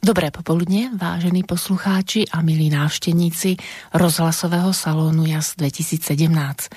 Dobré popoludne, vážení poslucháči a milí návštevníci rozhlasového salónu JAS 2017.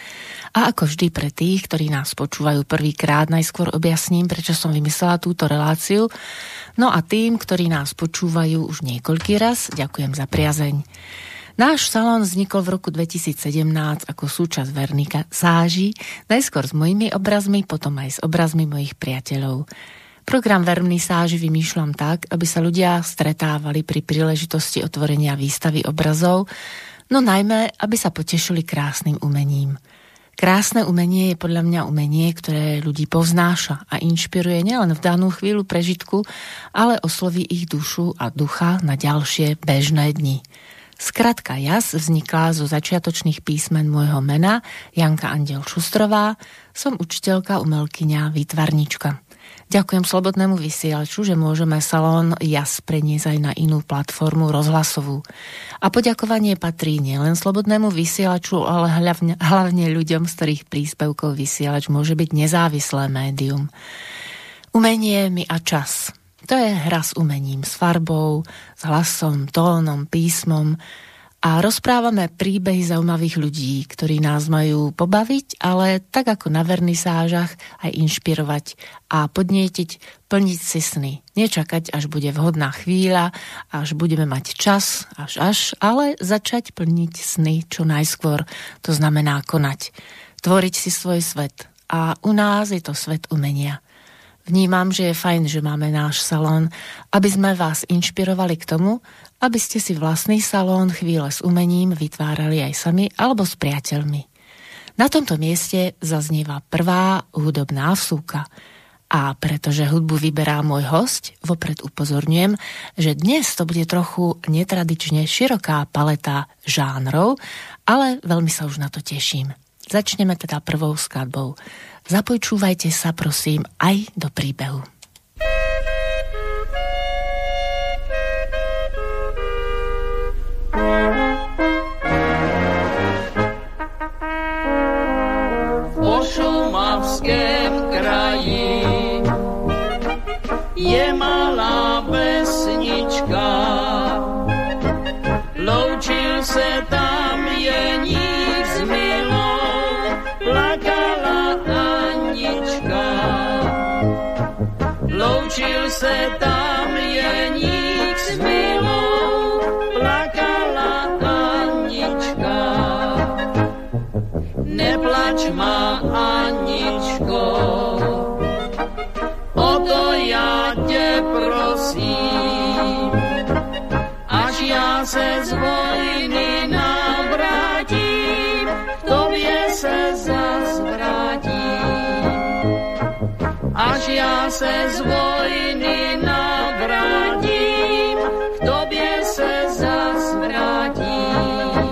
A ako vždy pre tých, ktorí nás počúvajú prvýkrát, najskôr objasním, prečo som vymyslela túto reláciu. No a tým, ktorí nás počúvajú už niekoľký raz, ďakujem za priazeň. Náš salón vznikol v roku 2017 ako súčasť vernisáží, najskôr s mojimi obrazmi, potom aj s obrazmi mojich priateľov. Program vernisáži vymýšľam tak, aby sa ľudia stretávali pri príležitosti otvorenia výstavy obrazov, no najmä, aby sa potešili krásnym umením. Krásne umenie je podľa mňa umenie, ktoré ľudí povznáša a inšpiruje nielen v danú chvíľu prežitku, ale osloví ich dušu a ducha na ďalšie bežné dni. Skratka JAS vznikla zo začiatočných písmen môjho mena, Janka Andiel Šustrová, som učiteľka, umelkyňa, výtvarnička. Ďakujem Slobodnému vysielaču, že môžeme salón JAS preniesť aj na inú platformu rozhlasovú. A poďakovanie patrí nielen Slobodnému vysielaču, ale hlavne ľuďom, z ktorých príspevkov vysielač môže byť nezávislé médium. Umenie, my a čas. To je hra s umením, s farbou, s hlasom, tónom, písmom. A rozprávame príbehy zaujímavých ľudí, ktorí nás majú pobaviť, ale tak ako na vernisážach aj inšpirovať a podnietiť, plniť si sny. Nečakať, až bude vhodná chvíľa, až budeme mať čas, ale začať plniť sny čo najskôr. To znamená konať. Tvoriť si svoj svet. A u nás je to svet umenia. Vnímam, že je fajn, že máme náš salón, aby sme vás inšpirovali k tomu, aby ste si vlastný salón chvíle s umením vytvárali aj sami alebo s priateľmi. Na tomto mieste zaznieva prvá hudobná vsúka. A pretože hudbu vyberá môj hosť, vopred upozorňujem, že dnes to bude trochu netradične široká paleta žánrov, ale veľmi sa už na to teším. Začneme teda prvou skladbou. Započúvajte sa, prosím, aj do príbehu. Po šumavském kraji je malá vesnička, loučil se tam jeník s milou, plakala Anička. Loučil se tam jeník s milou, plakala Anička. Neplač má Aničko, o to já tě prosím, až já se z vojny navrátím, k tobě se zas vrátím. Až já se z vojny navrátím, k tobě se zas vrátím.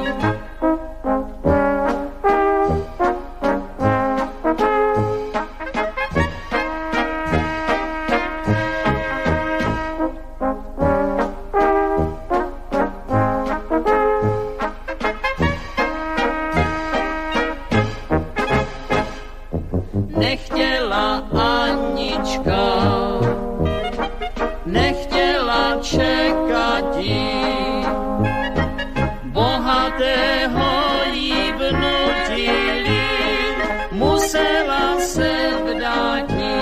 Nechtěla Anička, nechtěla čekat jí, bohatého jí vnutili, musela se vdát jí.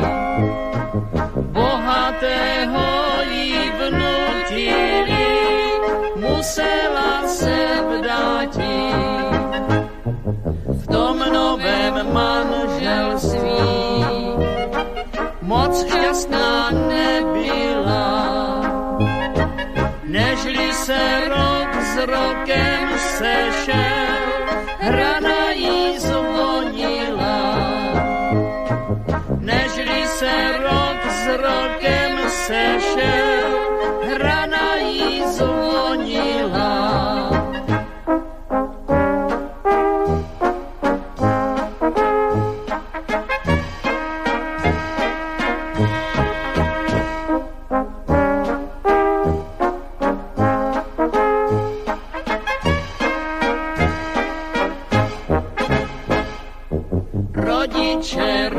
Bohatého jí vnutili, musela se vdát jí. V tom novém manželství moc šťastná nebyla, nežli se rok s rokem sešel, hrana jí zvonila. Nežli se rok s rokem sešel, hrana jí zvonila.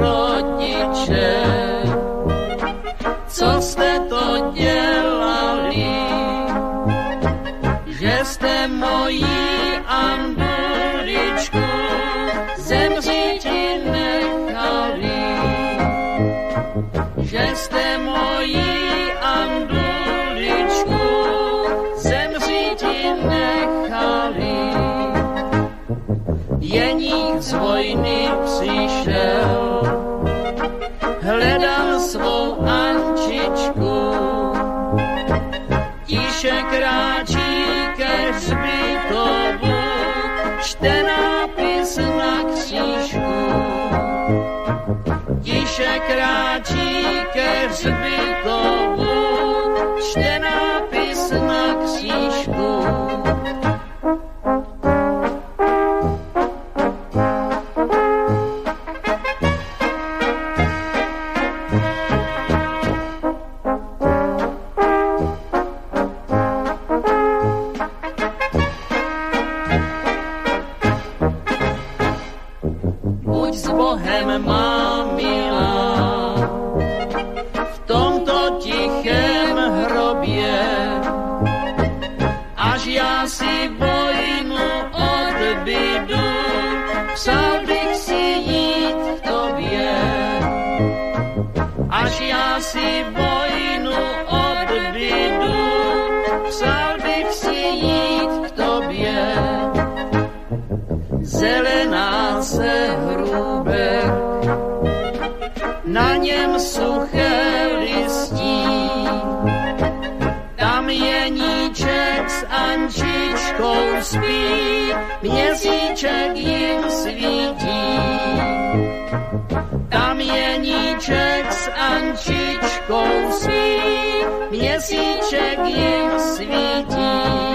Rodiče, co jste to dělali? Jeník z vojny přišel, hledal svou Ančičku, tiše kráčí ke hřbitovu, čte nápis na křížku. Tiše kráčí ke hřbitovu, čte nápis na křížku. Zelená se hrůbek, na něm suché listí, tam Jeníček s Ančičkou spí, měsíček jim svítí. Tam Jeníček s Ančičkou spí, měsíček jim svítí.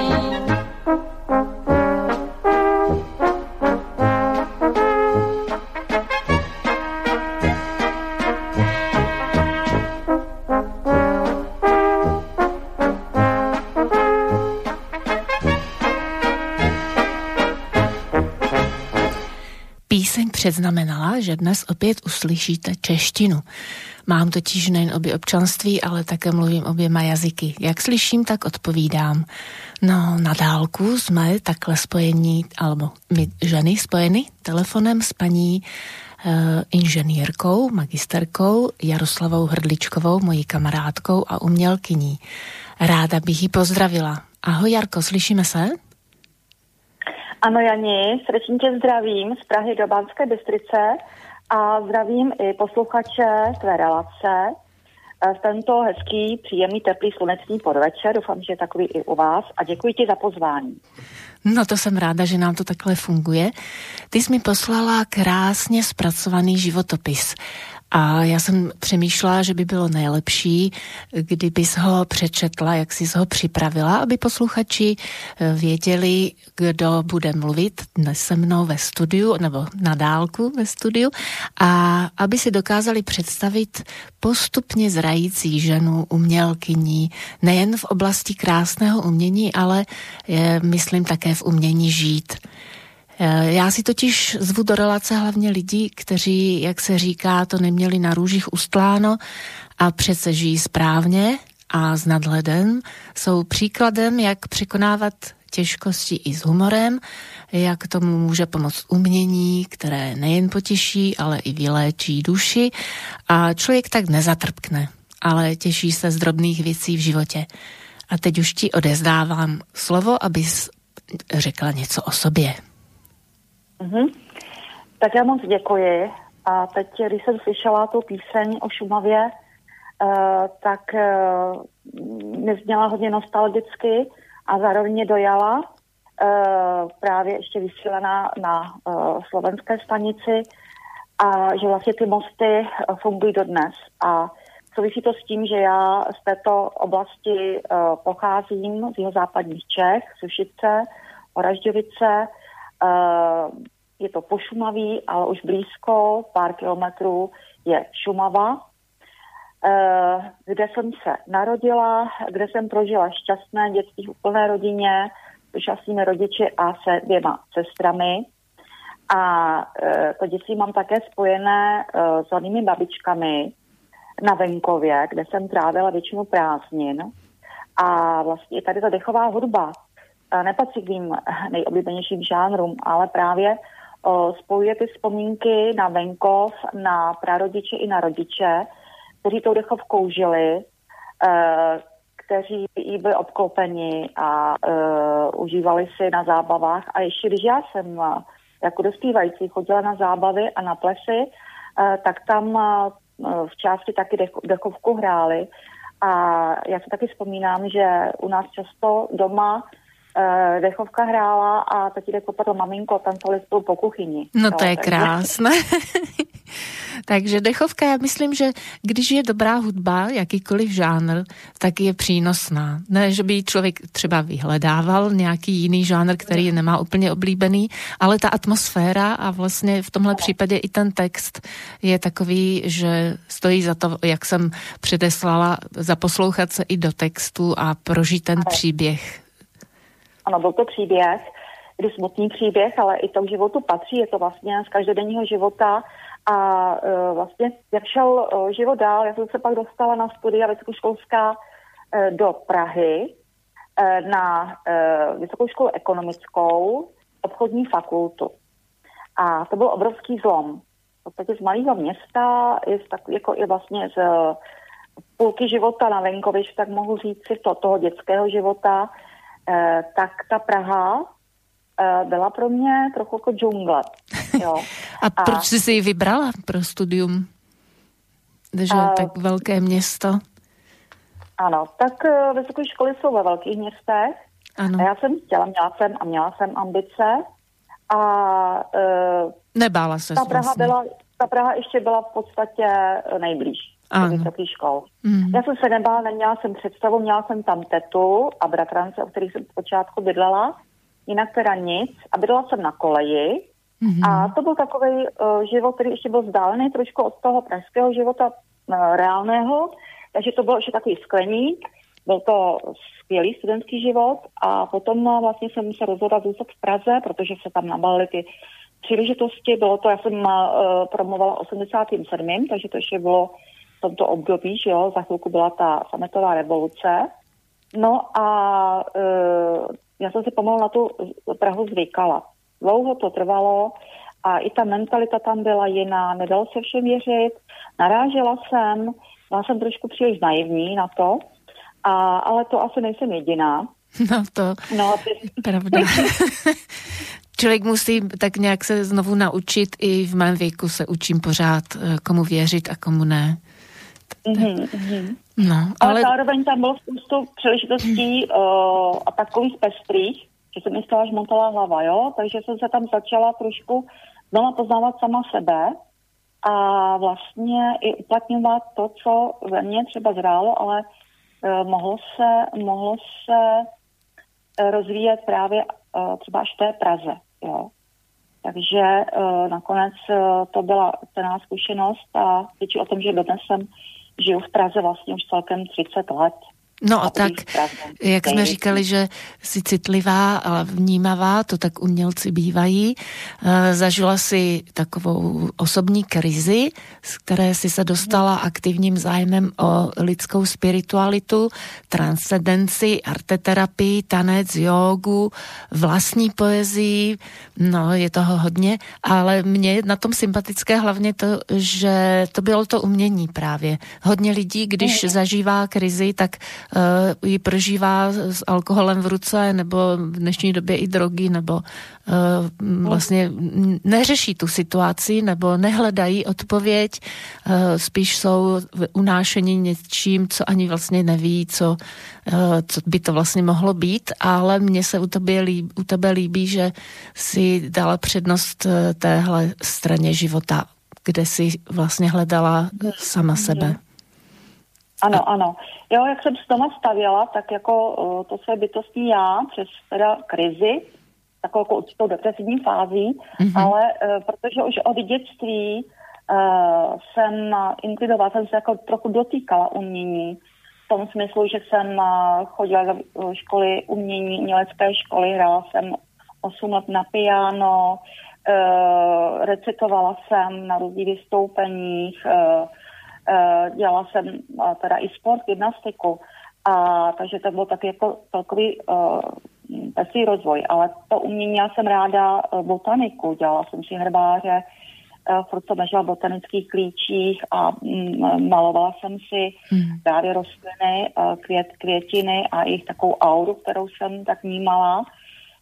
Píseň předznamenala, že dnes opět uslyšíte češtinu. Mám totiž nejen obě občanství, ale také mluvím oběma jazyky. Jak slyším, tak odpovídám. No, na dálku jsme takhle spojení, alebo my ženy spojeny telefonem s paní inženýrkou, magisterkou Jaroslavou Hrdličkovou, mojí kamarádkou a umělkyní. Ráda bych ji pozdravila. Ahoj Jarko, slyšíme se? Ano Jani, srdečně tě zdravím z Prahy do Banské Bystrice a zdravím i posluchače tvé relace v tento hezký, příjemný, teplý, slunečný podvečer. Doufám, že je takový i u vás a děkuji ti za pozvání. No to jsem ráda, že nám to takhle funguje. Ty jsi mi poslala krásně zpracovaný životopis. A já jsem přemýšlela, že by bylo nejlepší, kdybys ho přečetla, jak jsi ho připravila, aby posluchači věděli, kdo bude mluvit dnes se mnou ve studiu, nebo na dálku ve studiu, a aby si dokázali představit postupně zrající ženu, umělkyní, nejen v oblasti krásného umění, ale myslím také v umění žít. Já si totiž zvu do relace hlavně lidi, kteří, jak se říká, to neměli na růžích ustláno a přece žijí správně a s nadhledem, jsou příkladem, jak překonávat těžkosti i s humorem, jak tomu může pomoct umění, které nejen potěší, ale i vyléčí duši a člověk tak nezatrpkne, ale těší se z drobných věcí v životě. A teď už ti odezdávám slovo, abys řekla něco o sobě. Tak já moc děkuji. A teď, když jsem slyšela tu píseň o Šumavě, tak mě zněla hodně nostalgicky a zároveň mě dojala, právě ještě vysílená na slovenské stanici, a že vlastně ty mosty fungují dodnes. A souvisí to s tím, že já z této oblasti pocházím, z jihozápadních Čech, Sušice, Oražďovice. Je to po Šumaví, ale už blízko, pár kilometrů je Šumava, kde jsem se narodila, kde jsem prožila šťastné dětství v úplné rodině, s šťastnými rodiči a se 2 sestrami. A to dětství mám také spojené s hlavními babičkami na venkově, kde jsem trávila většinu prázdnin. A vlastně tady ta dechová hudba nepatří k mým nejoblíbenějším žánrům, ale právě spojuje ty vzpomínky na venkov, na prarodiče i na rodiče, kteří tou dechovkou žili, kteří jí byli obklopeni a užívali si na zábavách. A ještě když já jsem jako dospívající chodila na zábavy a na plesy, tak tam v části taky dechovku hráli. A já si taky vzpomínám, že u nás často doma dechovka hrála a tatínek popadl maminko, tancovali spolu po kuchyni. No to je krásné. Takže dechovka, já myslím, že když je dobrá hudba, jakýkoliv žánr, tak je přínosná. Ne, že by člověk třeba vyhledával nějaký jiný žánr, který nemá úplně oblíbený, ale ta atmosféra a vlastně v tomhle případě i ten text je takový, že stojí za to, jak jsem předeslala, zaposlouchat se i do textu a prožít ten příběh. Ano, byl to příběh, kdy smutný příběh, ale i to k životu patří, je to vlastně z každodenního života a vlastně jak šel život dál, já jsem se pak dostala na studia vysokoškolská do Prahy na vysokou školu ekonomickou, obchodní fakultu. A to byl obrovský zlom. V podstatě z malého města, je vlastně z půlky života na venkově, tak mohu říct si toho dětského života, tak ta Praha byla pro mě trochu jako džungle. Jo. A proč jsi si ji vybrala pro studium? Že tak velké město? Ano, tak vysoké školy jsou ve velkých městech. Ano. A já jsem chtěla, měla jsem ambice a nebála se ta Praha ještě byla v podstatě nejblíž do vysokých škol. Já jsem se nebála, neměla jsem představu, měla jsem tam tetu a bratrance, o kterých jsem zpočátku bydlela, jinak teda nic a bydlela jsem na koleji a to byl takový život, který ještě byl vzdálený trošku od toho pražského života reálného, takže to byl ještě takový skleník, byl to skvělý studentský život a potom vlastně jsem se rozhodla zůstat v Praze, protože se tam nabalily ty příležitosti, bylo to, já jsem promovala 87., takže to ještě bylo v tomto období, že jo, za chvilku byla ta sametová revoluce. No a já jsem si pomalu na tu Prahu zvykala. Dlouho to trvalo a i ta mentalita tam byla jiná, nedalo se všem věřit, narážela jsem, byla jsem trošku příliš naivní na to, ale to asi nejsem jediná. No to pravda. Člověk musí tak nějak se znovu naučit, i v mém věku se učím pořád, komu věřit a komu ne. No, ale zároveň tam bylo spoustu příležitostí a takových pestrých, že se mi stala žmontala hlava, jo? Takže jsem se tam začala trošku znova poznávat sama sebe a vlastně i uplatňovat to, co ve mně třeba zrálo, ale mohlo se rozvíjet právě třeba až v té Praze, jo. Takže nakonec to byla cená zkušenost a svědčí o tom, že dodnes žiju v Praze vlastně už celkem 30 let. No a tak, jak jsme říkali, že jsi citlivá a vnímavá, to tak umělci bývají. Zažila si takovou osobní krizi, z které si se dostala aktivním zájmem o lidskou spiritualitu, transcendenci, arteterapii, tanec, jógu, vlastní poezii, no je toho hodně, ale mně na tom sympatické hlavně to, že to bylo to umění právě. Hodně lidí, když zažívá krizi, tak ji prožívá s alkoholem v ruce, nebo v dnešní době i drogy, nebo vlastně neřeší tu situaci, nebo nehledají odpověď, spíš jsou unášeni něčím, co ani vlastně neví, co by to vlastně mohlo být, ale mně se u tebe líbí, že si dala přednost téhle straně života, kde si vlastně hledala sama sebe. Ano. Jo, jak jsem s doma stavěla, tak jako to své bytostní já přes teda krizi, takovou jako určitou depresivní fází, ale protože už od dětství jsem inklinovala, jsem se jako trochu dotýkala umění, v tom smyslu, že jsem chodila do školy umění, umělecké školy, hrála jsem 8 let na piano, recitovala jsem na různých vystoupeních, dělala jsem teda i sport, gymnastiku, takže to byl taky jako celkový pestrý rozvoj, ale to umění, já jsem ráda botaniku, dělala jsem si herbáře, furt jsem ležela v botanických klíčích a malovala jsem si právě rostliny, květiny a jejich takovou auru, kterou jsem tak vnímala.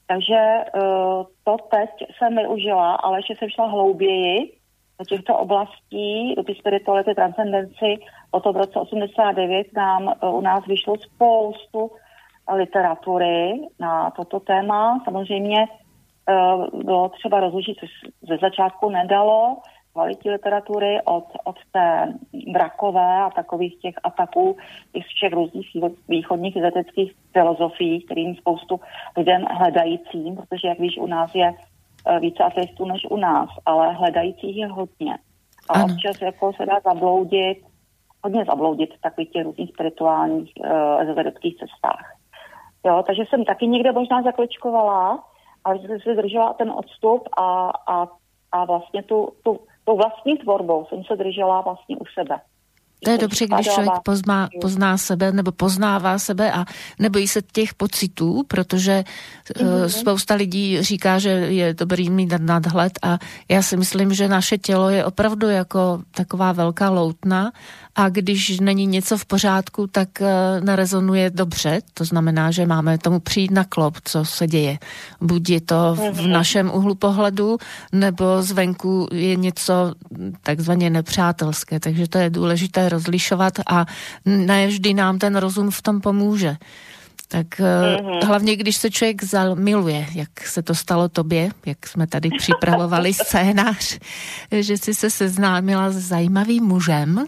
Takže to teď jsem využila, ale ještě jsem šla hlouběji do těchto oblastí, do té spirituality, transcendenci. O to v roce 89 u nás vyšlo spoustu literatury na toto téma. Samozřejmě bylo třeba rozlišit, což ze začátku nedalo, kvalitní literatury od té brakové a takových těch ataků těch všech různých východních vědeckých filozofií, kterým spoustu lidem hledajícím, protože jak víš, u nás je více ateistů než u nás, ale hledajících je hodně. A občas jako se dá hodně zabloudit v takových těch různých spirituálních ezoterických cestách. Jo, takže jsem taky někde možná zakličkovala, ale jsem si držela ten odstup a vlastně tu vlastní tvorbou jsem se držela vlastně u sebe. To je dobře, když člověk pozná sebe nebo poznává sebe a nebojí se těch pocitů, protože spousta lidí říká, že je dobrý mít nadhled a já si myslím, že naše tělo je opravdu jako taková velká loutna a když není něco v pořádku, tak nerezonuje dobře. To znamená, že máme tomu přijít na klop, co se děje. Buď je to v našem úhlu pohledu, nebo zvenku je něco takzvaně nepřátelské. Takže to je důležité rozlišovat a ne vždy nám ten rozum v tom pomůže. Tak hlavně, když se člověk zamiluje, jak se to stalo tobě, jak jsme tady připravovali scénář, že jsi se seznámila s zajímavým mužem,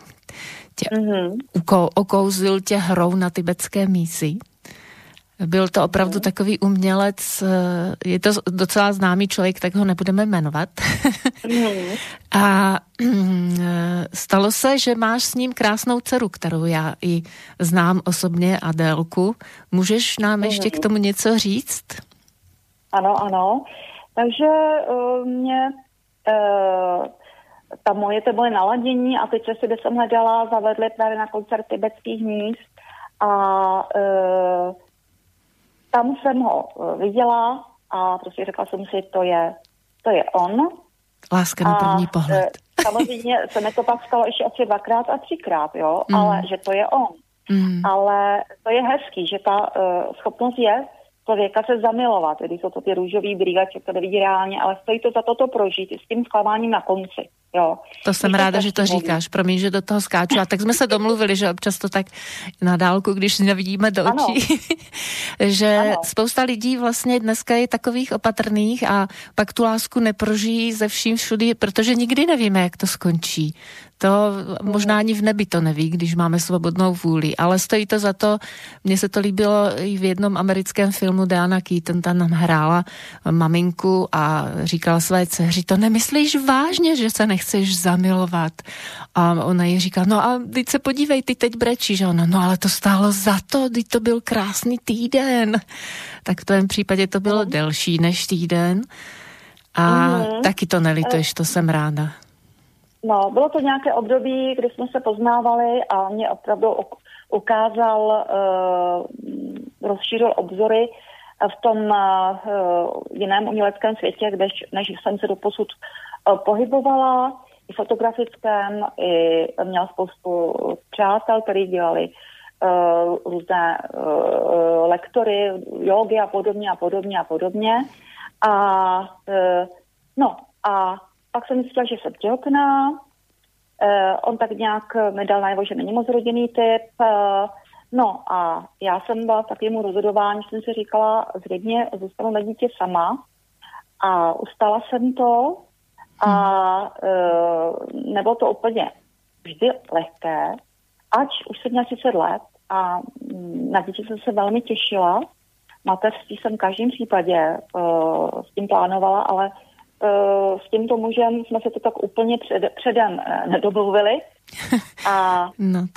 okouzil tě hrou na tibetské mísi. Byl to opravdu takový umělec, je to docela známý člověk, tak ho nebudeme jmenovat. A stalo se, že máš s ním krásnou dceru, kterou já i znám osobně, Adélku. Můžeš nám ještě k tomu něco říct? Ano. Takže mě to moje naladění a teď si, kde jsem hledala, zavedli právě na koncert tibetských míst a tam jsem ho viděla a prostě řekla jsem si, to je on. Láska na první pohled. Samozřejmě se mi to pak stalo ještě asi 2krát a 3krát, jo, ale že to je on. Ale to je hezký, že ta schopnost je člověka se zamilovat, když jsou to ty růžový brýle, člověk to nevidí reálně, ale stojí to za to prožít s tím zklamáním na konci. Jo. To jsem ráda, že to říkáš. Promiň, že do toho skáču. A tak jsme se domluvili, že občas to tak na dálku, když nevidíme do očí, že spousta lidí vlastně dneska je takových opatrných a pak tu lásku neprožijí ze vším všudy, protože nikdy nevíme, jak to skončí. To možná ani v nebi to neví, když máme svobodnou vůli, ale stojí to za to. Mně se to líbilo i v jednom americkém filmu, Diana Keaton tam hrála maminku a říkala své dceři, to nemyslíš vážně, že se nechceš zamilovat? A ona jí říká, no a teď se podívej, ty teď brečíš. A ona, no ale to stálo za to, teď to byl krásný týden. Tak v tom případě to bylo delší než týden. A taky to nelituješ, to jsem ráda. No, bylo to nějaké období, kdy jsme se poznávali a mě opravdu ukázal, rozšířil obzory v tom jiném uměleckém světě, než jsem se doposud pohybovala, i fotografickém, i měla spoustu přátel, kteří dělali různé lektory, jógy a podobně. A pak jsem myslela, že jsem těhotná. On tak nějak mi dal najevo, že není moc rodinný typ. No a já jsem byla v takovému rozhodování, jsem si říkala, zřejmě zůstanu na dítě sama. A ustala jsem to a nebylo to úplně vždy lehké, ač už jsem měla 30 let a na dítě jsem se velmi těšila. Mateřství jsem v každém případě s tím plánovala, ale s tímto mužem jsme se to tak úplně předem nedomluvili. A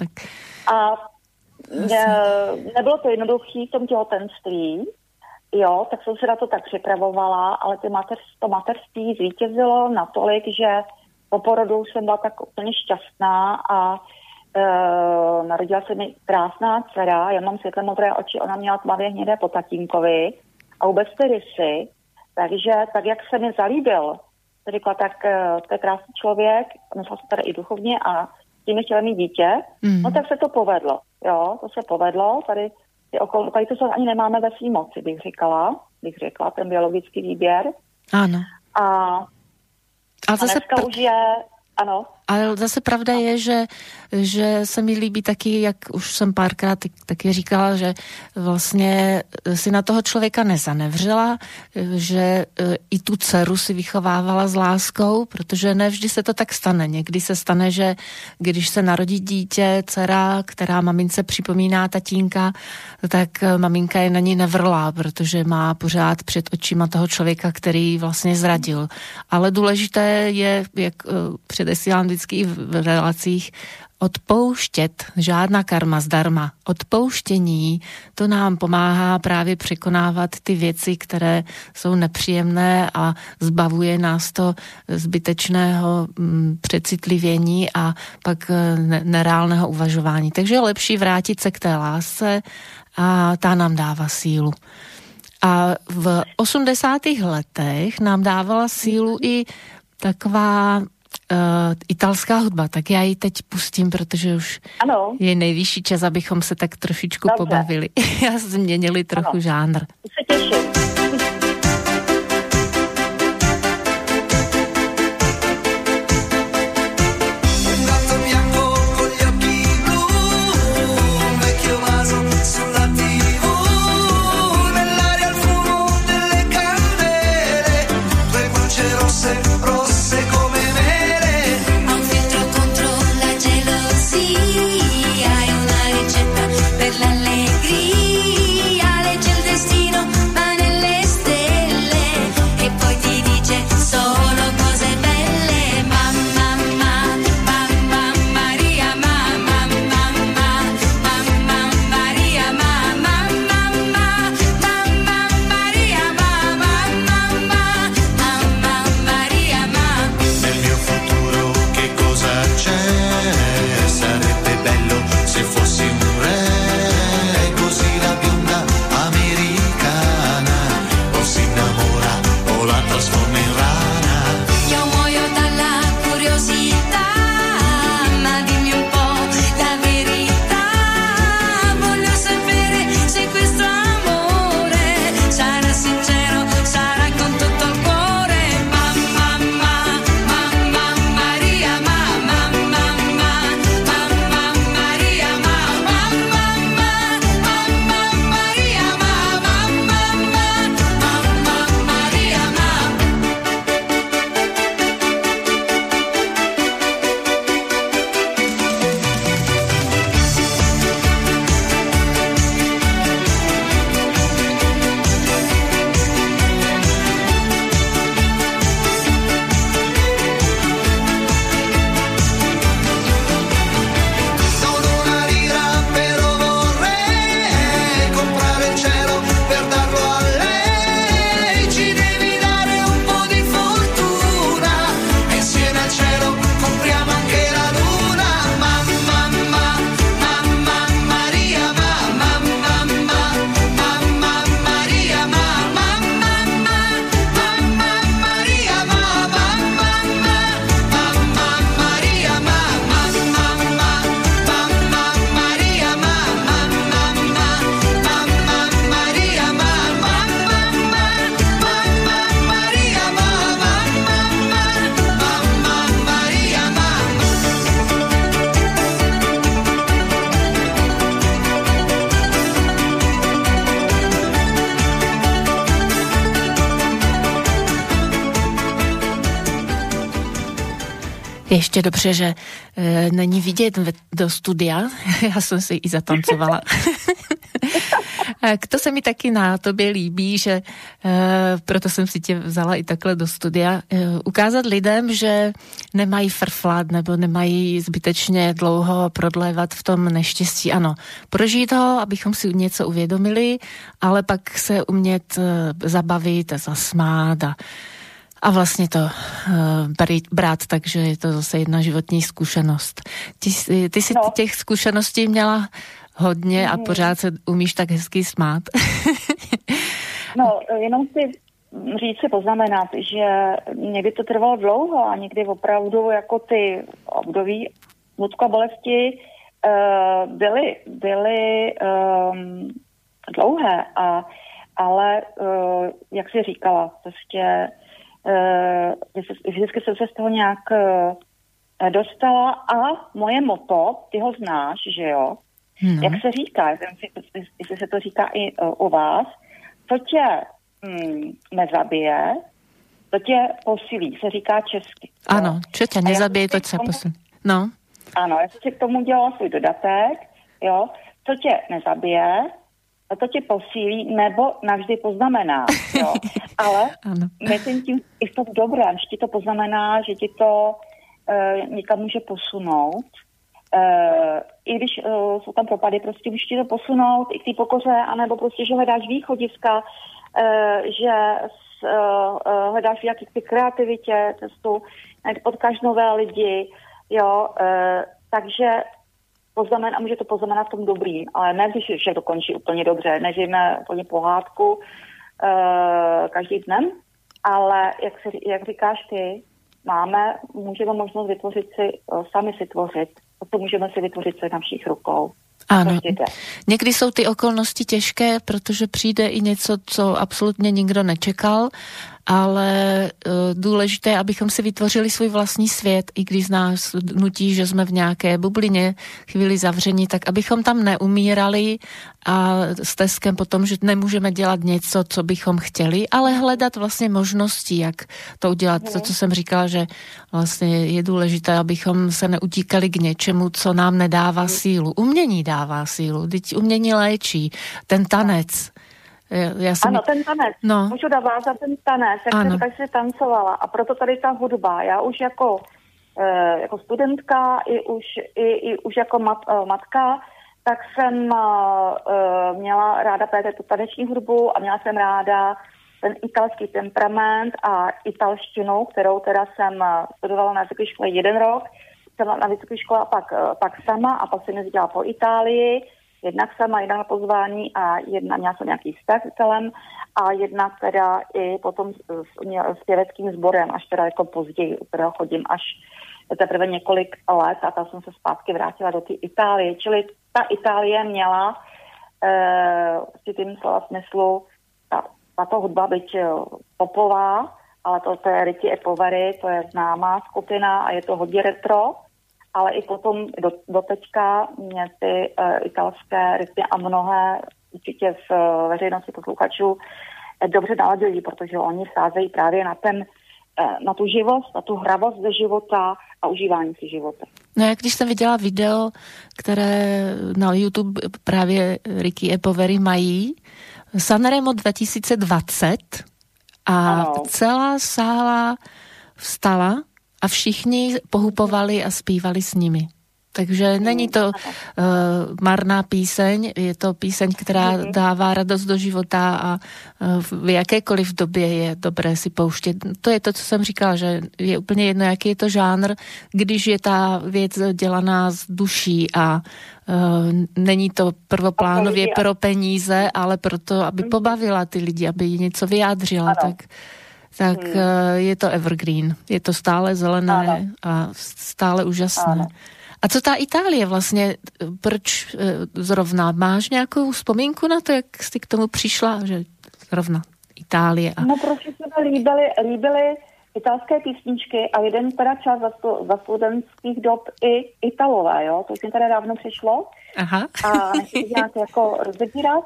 nebylo to jednoduché v tom těhotenství, jo, tak jsem se na to tak připravovala, ale to mateřství zvítězilo natolik, že po porodu jsem byla tak úplně šťastná a narodila se mi krásná dcera, já mám světle modré oči, ona měla tmavě hnědé po tatínkovi a vůbec ty rysy. Takže tak, jak se mi zalíbil, to řekla, tak to je krásný člověk, myslela se tady i duchovně a s tím chtěla mít dítě, no tak se to povedlo, jo, to se povedlo, tady to ani nemáme ve svý moci, bych říkala. bych řekla, ten biologický výběr. Ano. A dneska už je, ano. Ale zase pravda je, že se mi líbí taky, jak už jsem párkrát taky říkala, že vlastně si na toho člověka nezanevřela, že i tu dceru si vychovávala s láskou, protože nevždy se to tak stane. Někdy se stane, že když se narodí dítě, dcera, která mamince připomíná tatínka, tak maminka je na ní nevrlá, protože má pořád před očima toho člověka, který vlastně zradil. Ale důležité je, jak předesílám vždycky v relacích, odpouštět, žádná karma zdarma. Odpouštění, to nám pomáhá právě překonávat ty věci, které jsou nepříjemné a zbavuje nás to zbytečného přecitlivění a pak nereálného uvažování. Takže je lepší vrátit se k té lásce a ta nám dává sílu. A v 80. letech nám dávala sílu i taková italská hudba, tak já ji teď pustím, protože už je nejvyšší čas, abychom se tak trošičku pobavili. Já změnili trochu žánr. Se těším. Ještě dobře, že není vidět do studia. Já jsem si i zatancovala. To se mi taky na tobě líbí, že proto jsem si tě vzala i takhle do studia. Ukázat lidem, že nemají frflat nebo nemají zbytečně dlouho prodlévat v tom neštěstí. Ano, prožít ho, abychom si něco uvědomili, ale pak se umět zabavit a zasmát a vlastně to brát, takže je to zase jedna životní zkušenost. Ty si těch zkušeností měla hodně a pořád se umíš tak hezky smát. No, jenom si poznamenat, že někdy to trvalo dlouho a někdy opravdu jako ty období smutku a bolesti byly dlouhé a ale jak jsi říkala, prostě vždycky jsem se z toho nějak dostala a moje motto, ty ho znáš, že jo? Jak se říká, jestli se to říká i u vás, co tě nezabije, to tě posílí, se říká česky. Ano, čo tě nezabije, to tě posílí. No. Ano, já jsem si k tomu dělala svůj dodatek, jo, co tě nezabije, to tě posílí nebo navždy poznamená, jo. Ale myslím tím i v tom dobrém, že ti to poznamená, že ti to někam může posunout. I když jsou tam propady, prostě může ti to posunout i k té pokoře, anebo prostě, že hledáš východiska, že hledáš v jaký ty kreativitě, cestu, potkáš nové lidi, jo, takže a může to poznamenat v tom dobrým, ale ne, když vše dokončí úplně dobře, nežijeme úplně pohádku každý dnem, ale jak říkáš ty, můžeme možnost vytvořit si, sami si tvořit, to můžeme si vytvořit se na všech rukou. Áno, niekdy sú tie okolnosti ťažké, pretože príde i niečo, co absolútne nikdo nečekal, ale důležité, abychom si vytvořili svůj vlastní svět, i když nás nutí, že jsme v nějaké bublině chvíli zavření, tak abychom tam neumírali a s teskem potom, že nemůžeme dělat něco, co bychom chtěli, ale hledat vlastně možnosti, jak to udělat. To, co jsem říkala, že vlastně je důležité, abychom se neutíkali k něčemu, co nám nedává sílu. Umění dává sílu, teď umění léčí, ten tanec. Ano, ten tanec. No. Můžu navázat ten tanec, jak jsem tancovala. A proto tady ta hudba. Já už jako studentka, i už jako matka, tak jsem měla ráda právě tu taneční hudbu a měla jsem ráda ten italský temperament a italštinu, kterou teda jsem studovala na vysoké škole 1 rok. Jsem na vysoké škole a pak sama a pak jsem jezdila po Itálii. Jednak sama, jedna na pozvání a měla jsem nějaký vztah s celem a jedna teda i potom s pěveckým sborem, až teda jako později, u kterého chodím až teprve několik let a tam jsem se zpátky vrátila do té Itálie. Čili ta Itálie měla v tím slova smyslu tato hudba byť popová, ale to je Ricky e Poveri, to je známá skupina a je to hodně retro. Ale i potom do teďka mě ty italské rytmy a mnohé určitě v veřejnosti posluchačů dobře naladují, protože oni sázejí právě na tu živost, na tu hravost ze života a užívání si života. No jak když jsem viděla video, které na YouTube právě Ricky e Poveri mají, Sanremo 2020 a celá sála vstala a všichni pohupovali a zpívali s nimi. Takže není to marná píseň, je to píseň, která dává radost do života a v jakékoliv době je dobré si pouštět. To je to, co jsem říkala, že je úplně jedno, jaký je to žánr, když je ta věc dělaná z duší a není to prvoplánově pro peníze, ale proto, aby pobavila ty lidi, aby jí něco vyjádřila, tak je to evergreen. Je to stále zelené a stále úžasné. A co ta Itálie vlastně, proč zrovna? Máš nějakou vzpomínku na to, jak jsi k tomu přišla, že zrovna Itálie? No, protože se mi líbily italské písničky a jeden teda čas za studentských dob i Italové, jo? To už mi teda dávno přišlo. Aha. A nechci nějak jako rozebírat.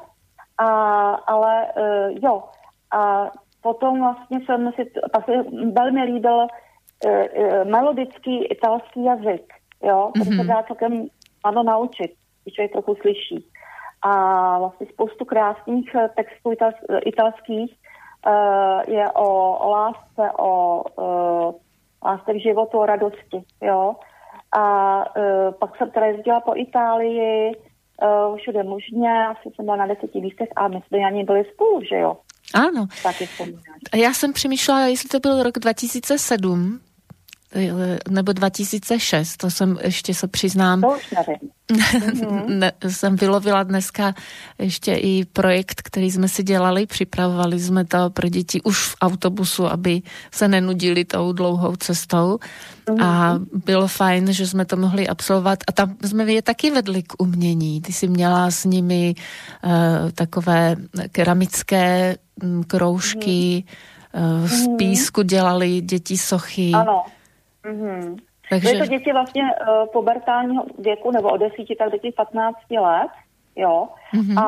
Ale jo. A potom vlastně jsem si pak velmi líbil melodický italský jazyk, jo, který se dá celkem snadno naučit, když člověk trochu slyší. A vlastně spoustu krásných textů italských je o lásce, o lásce k životu, o radosti, jo. A pak jsem teda jezdila po Itálii, všude možně, asi jsem byla na 10 místech a my jsme ani byli spolu, že jo. Áno. Já jsem přemýšlela, jestli to byl rok 2007, nebo 2006, to jsem ještě se přiznám. To už nevím. Jsem vylovila dneska ještě i projekt, který jsme si dělali, připravovali jsme to pro děti už v autobusu, aby se nenudili tou dlouhou cestou a bylo fajn, že jsme to mohli absolvovat a tam jsme je taky vedli k umění. Ty jsi měla s nimi takové keramické kroužky, z písku dělali děti sochy. Ano. Takže... Byly to děti vlastně pubertálního věku, nebo od 10 tak do těch 15 let, jo. A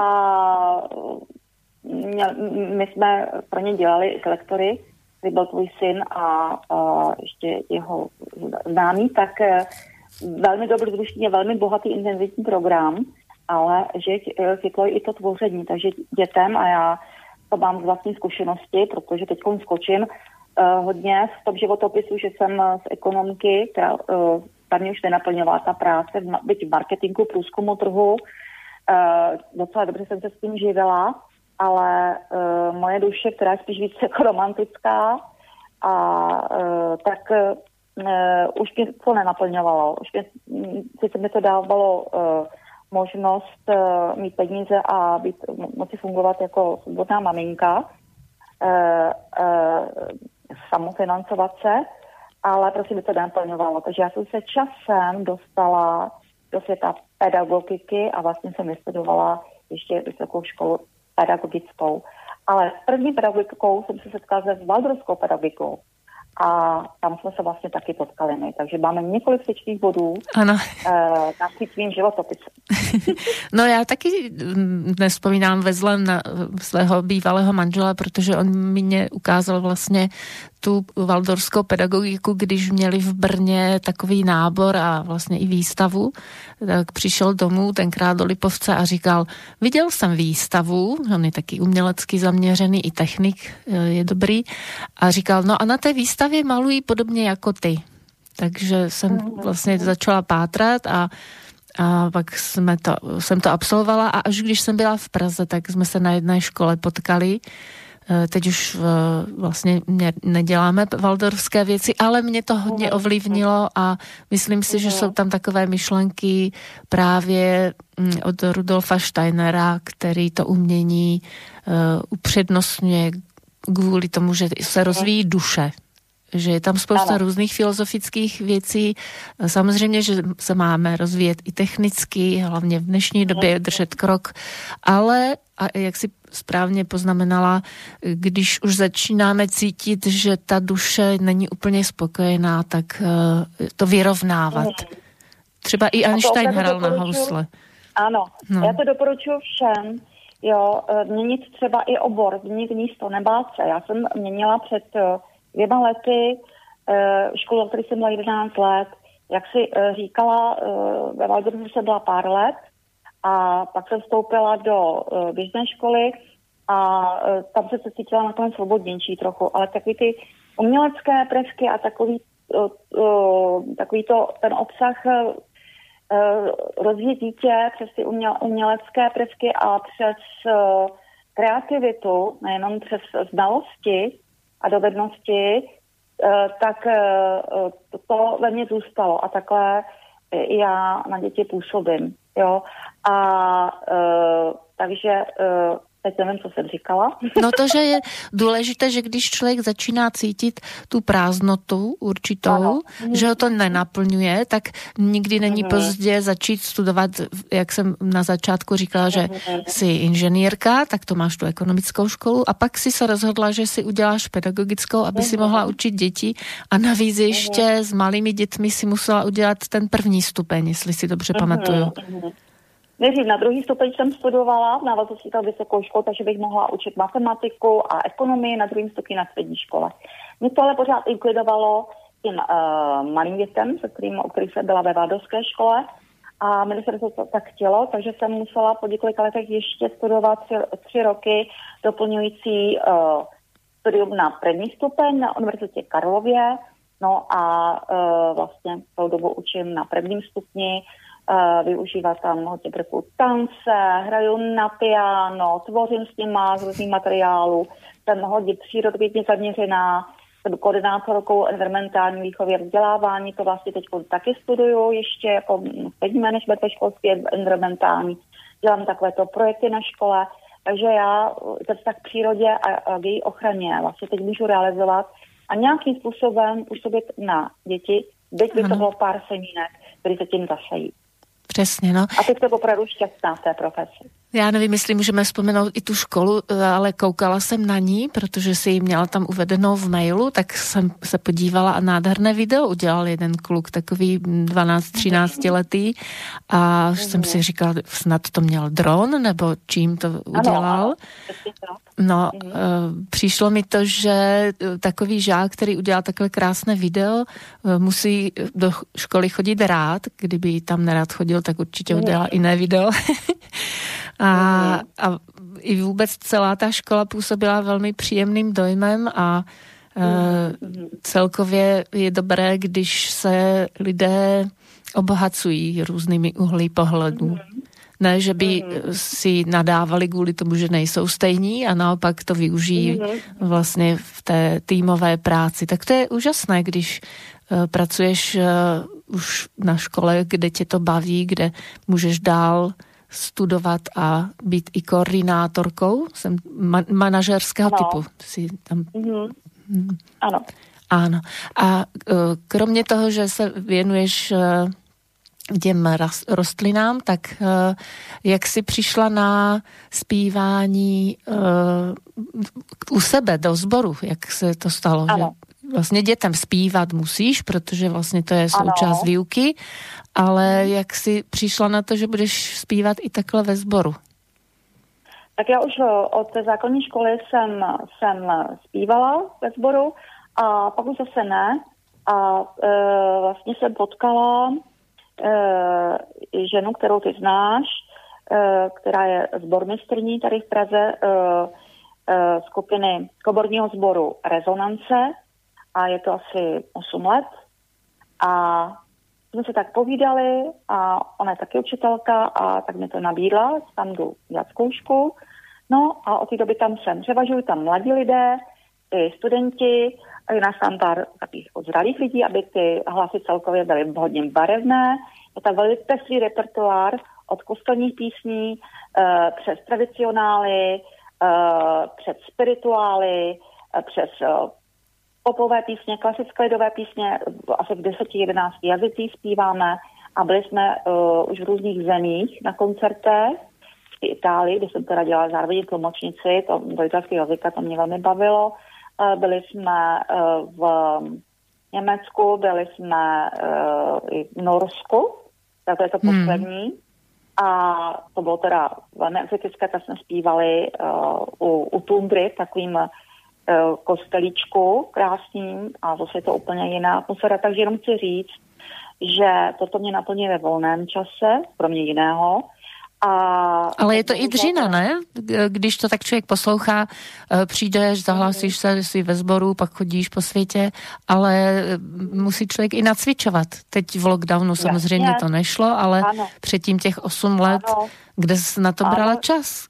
my jsme pro ně dělali lektory, kdy byl tvůj syn a ještě jeho známý, tak velmi dobrodružný, velmi bohatý intenzivní program, ale že chytlo i to tvoření, takže dětem, a já to mám z vlastní zkušenosti, protože teď skočím hodně v tom životopisu, že jsem z ekonomky, která tam mě už nenaplňovala ta práce, byť v marketingu, průzkumu trhu, docela dobře jsem se s tím živila, ale moje duše, která je spíš víc jako romantická, tak už mě to nenaplňovalo. Sice mi to dávalo možnost mít peníze a moci fungovat jako svobodná maminka, samofinancovat se, ale prostě mi to nenaplňovalo. Takže já jsem se časem dostala do světa pedagogiky a vlastně jsem vystudovala ještě vysokou školu pedagogickou. Ale s první pedagogikou jsem se setkala se waldorfskou pedagogikou. A tam jsme se vlastně taky potkali my. Takže máme několik styčných bodů na svým životopisem. No já taky nevzpomínám ve zlém na svého bývalého manžela, protože on mě ukázal vlastně tu waldorfskou pedagogiku, když měli v Brně takový nábor a vlastně i výstavu, tak přišel domů tenkrát do Lipovce a říkal, viděl jsem výstavu, on je taky umělecky zaměřený, i technik je dobrý, a říkal, no a na té výstavě malují podobně jako ty. Takže jsem vlastně začala pátrat a pak jsem to absolvovala a až když jsem byla v Praze, tak jsme se na jedné škole potkali. Teď už vlastně neděláme waldorfské věci, ale mě to hodně ovlivnilo a myslím si, že jsou tam takové myšlenky právě od Rudolfa Steinera, který to umění upřednostňuje kvůli tomu, že se rozvíjí duše. Že je tam spousta různých filozofických věcí. Samozřejmě, že se máme rozvíjet i technicky, hlavně v dnešní době držet krok, ale, a jak si správně poznamenala, když už začínáme cítit, že ta duše není úplně spokojená, tak to vyrovnávat. Třeba i Einstein hrál na housle. Ano, já to doporučuji všem, jo, měnit třeba i obor, změnit místo, nebát se. Já jsem měnila před 2 lety školu, který jsem byla 11 let, jak si říkala, ve Waldorfu jsem byla pár let a pak jsem vstoupila do běžné školy a tam se cítila nakonec svobodnější trochu, ale takový ty umělecké prvky a takový ten obsah rozvíjet dítě přes ty umělecké prvky a přes kreativitu, nejenom přes znalosti a dovednosti, tak to ve mně zůstalo a takhle já na děti působím, jo. Takže teď nevím, co jsem říkala. No to, že je důležité, že když člověk začíná cítit tu prázdnotu určitou, že ho to nenaplňuje, tak nikdy není pozdě začít studovat, jak jsem na začátku říkala, že jsi inženýrka, tak to máš tu ekonomickou školu a pak si se rozhodla, že si uděláš pedagogickou, aby si mohla učit děti a navíc ještě s malými dětmi si musela udělat ten první stupeň, jestli si dobře pamatuju. Nejdřív na druhý stupeň jsem studovala v návaznosti na vysokou školu, takže bych mohla učit matematiku a ekonomii na druhém stupni na střední škole. Mě to ale pořád inklidovalo tím malým dětem, o kterých jsem byla ve waldorfské škole a ministerstvo to tak chtělo, takže jsem musela po několika letech ještě studovat 3 roky doplňující studium na první stupeň na Univerzitě Karlově, no a vlastně celou dobu učím na prvním stupni. Využívat tam hodně prvků tance, hraju na piano, tvořím s nima z různých materiálů, jsem hodně přírodovědně zaměřená, jsem koordinátorkou environmentální výchovy a vzdělávání, to vlastně teď taky studuju ještě jako střední management ve školství environmentální. Dělám takovéto projekty na škole, takže já ten vztah k přírodě a k její ochraně vlastně teď můžu realizovat a nějakým způsobem působit na děti, byť by to bylo pár semínek, které se tím zasejí. Přesně, no. A teď to opravdu šťastná v té profesi. Já nevím, jestli můžeme vzpomenout i tu školu, ale koukala jsem na ní, protože si ji měla tam uvedenou v mailu, tak jsem se podívala a nádherné video udělal jeden kluk, takový 12-13 letý a jsem si říkala, snad to měl dron, nebo čím to udělal. No, přišlo mi to, že takový žák, který udělal takhle krásné video, musí do školy chodit rád, kdyby tam nerad chodil, tak určitě udělal jiné video. A i vůbec celá ta škola působila velmi příjemným dojmem a celkově je dobré, když se lidé obohacují různými uhly pohledů. Ne, že by si nadávali kvůli tomu, že nejsou stejní a naopak to využijí vlastně v té týmové práci. Tak to je úžasné, když pracuješ už na škole, kde tě to baví, kde můžeš dál studovat a být i koordinátorkou, jsem manažerského typu. Si tam... Ano. Ano. A kromě toho, že se věnuješ těm rostlinám, tak jak jsi přišla na zpívání u sebe do sboru, jak se to stalo? Že vlastně dětem zpívat musíš, protože vlastně to je součást výuky, ale jak jsi přišla na to, že budeš zpívat i takhle ve sboru? Tak já už od té základní školy jsem zpívala ve sboru a pak už zase ne. A vlastně jsem potkala ženu, kterou ty znáš, která je sbormistrní tady v Praze skupiny komorního sboru Rezonance a je to asi 8 let. A jsme se tak povídali a ona je taky učitelka a tak mi to nabídla, tam jdu dělat zkoušku. No a od té doby tam jsem. Převažují tam mladí lidé, i studenti, a je nás tam pár takových zralých lidí, aby ty hlasy celkově byly hodně barevné. Je tam velmi pestrý repertoár od kostelních písní přes tradicionály, přes spirituály, přes popové písně, klasické lidové písně, asi v 10-11 jazycích zpíváme a byli jsme už v různých zemích na koncertech. V Itálii, kde jsem teda dělala zároveň tlumočnici, to do italského jazyka, to mě velmi bavilo. Byli jsme v Německu, byli jsme i v Norsku, tak to je to poslední. A to bylo teda velmi exotické, tak jsme zpívali u Tundry v takovým kostelíčku krásným a zase je to úplně jiná atmosféra, takže jenom chci říct, že toto mě naplní ve volném čase, kromě jiného. Ale je to i dřina, ne? Když to tak člověk poslouchá, přijdeš, zahlásíš se, jsi ve sboru, pak chodíš po světě, ale musí člověk i nacvičovat. Teď v lockdownu samozřejmě to nešlo, ale předtím těch 8 let, kde jsi na to brala čas?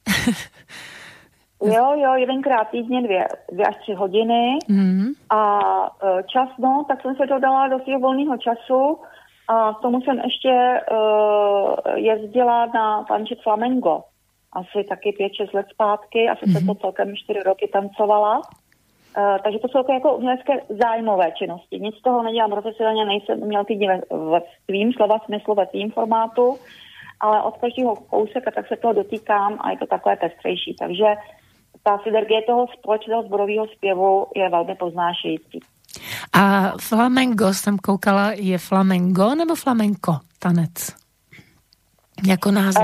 Jo, jedenkrát týdně 2 až 3 hodiny a čas, tak jsem se to dala do svého volného času a k tomu jsem ještě jezdila na tančit flamengo. Asi taky 5-6 let zpátky, asi se to celkem 4 roky tancovala. Takže to jsou jako umělecké zájmové činnosti. Nic z toho nedělám profesionálně, nejsem umělkyně ve svým slova smyslu, ve svým formátu, ale od každého kouseka tak se toho dotýkám a je to takové pestřejší. Takže ta synergie toho společného sborového zpěvu je velmi poznášející. A flamengo jsem koukala, je flamengo nebo flamenco tanec? Jako název?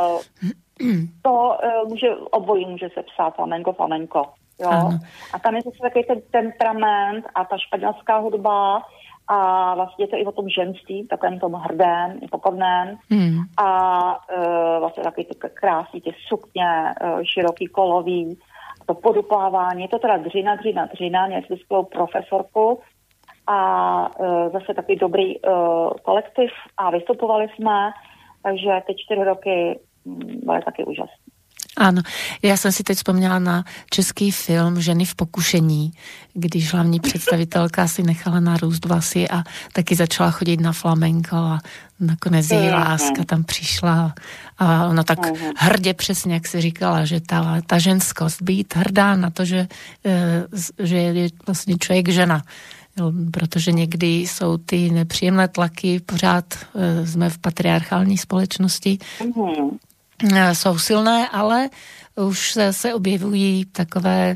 To obojí může se psát flamenco. Jo? A tam je zase takový ten temperament a ta španělská hudba a vlastně je to i o tom ženství, takovém tom hrdém, i pokorném. A vlastně takový ty krásný, ty sukně, široký kolový, to poduplávání, je to teda dřina, měli jsme skvělou profesorku a zase takový dobrý kolektiv a vystupovali jsme, takže ty 4 roky byly taky úžasné. Áno, ja som si teď spomínala na český film Ženy v pokušení, když hlavní představitelka si nechala narůst vlasy a taky začala chodit na flamenko a nakonec její láska tam přišla a ona tak hrdě přesně, jak si říkala, že ta ženskost, být hrdá na to, že je vlastně člověk žena. Protože někdy jsou ty nepříjemné tlaky, pořád jsme v patriarchální společnosti, jsou silné, ale už se objevují takové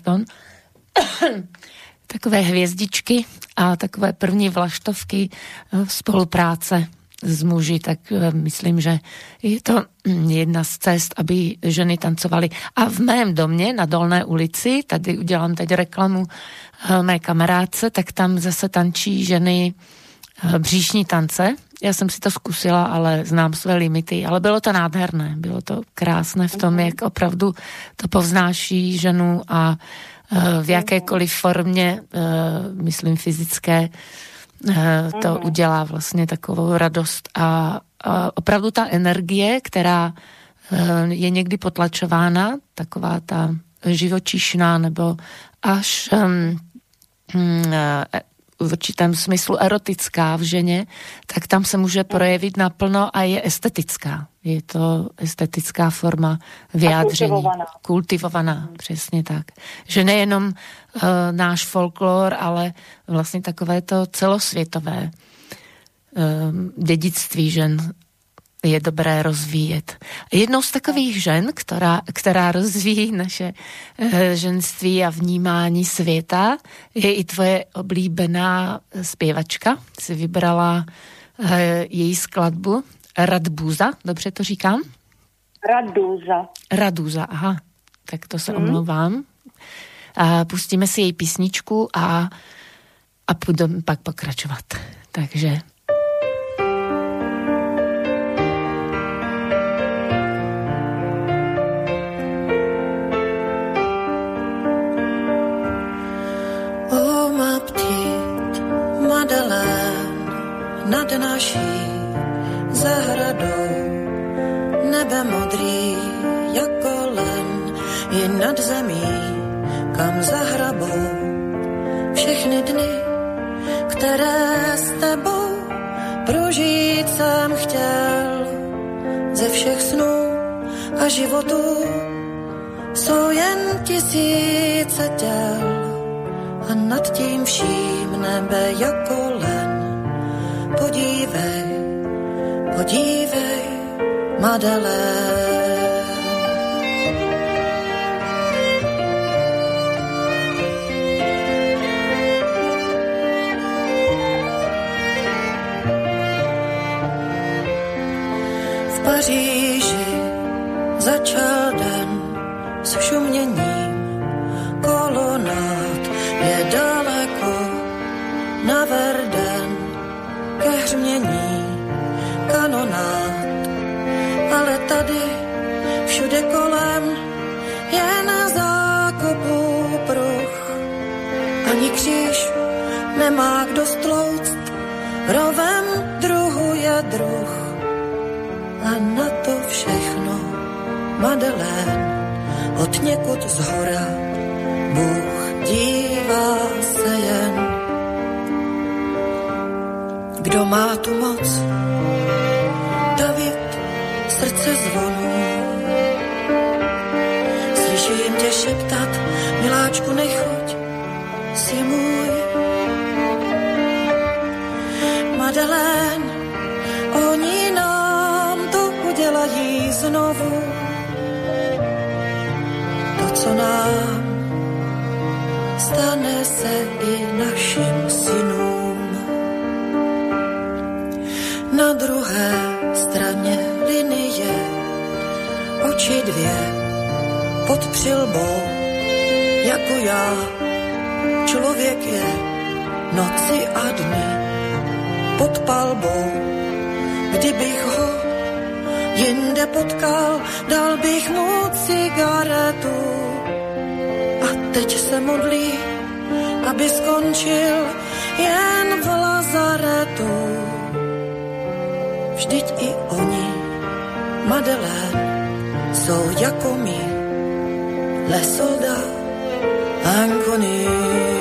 hvězdičky a takové první vlaštovky spolupráce s muži, tak myslím, že je to jedna z cest, aby ženy tancovaly. A v mém domě na Dolné ulici, tady udělám teď reklamu mé kamarádce, tak tam zase tančí ženy bříšní tance. Já jsem si to zkusila, ale znám své limity, ale bylo to nádherné, bylo to krásné v tom, jak opravdu to povznáší ženu a v jakékoliv formě, myslím fyzické, to udělá vlastně takovou radost a opravdu ta energie, která je někdy potlačována, taková ta živočišná nebo až v určitém smyslu erotická v ženě, tak tam se může projevit naplno a je estetická. Je to estetická forma vyjádření. Kultivovaná, přesně tak. Že nejenom náš folklor, ale vlastně takové to celosvětové dědictví žen je dobré rozvíjet. Jednou z takových žen, která rozvíjí naše ženství a vnímání světa, je i tvoje oblíbená zpěvačka. Jsi vybrala její skladbu Radbúza, dobře to říkám? Radúza, aha. Tak to se omlouvám. A pustíme si její písničku a budeme pak pokračovat. Takže... Nad naší zahradou nebe modrý jako len je nad zemí, kam zahrabou všechny dny, které s tebou prožít jsem chtěl. Ze všech snů a životů jsou jen tisíce těl a nad tím vším nebe jako len. Podívej, Madeleine. V Paříži začal den s šuměním kolonád, je daleko na Verden ke hřmění kanonád, ale tady všude kolem je na zákopu pruh. Ani kříž nemá kdo stlouct, rovem druhu je druh. A na to všechno, Madeleine, od někud zhora Bůh dívá se jen. Kdo má tu moc? David, srdce zvonu. Slyším tě šeptat, miláčku, nechoď, si můj. Madeleine, oni nám to udělají znovu. To, co nám stane se i našim synům. Na druhé straně linie, oči dvě, pod přilbou, jako já. Člověk je noci a dny, pod palbou. Kdybych ho jinde potkal, dal bych mu cigaretu. A teď se modlí, aby skončil jen v lazaretu. Vždyť i oni, Madeleine, jsou jako my, les soldats inconnus.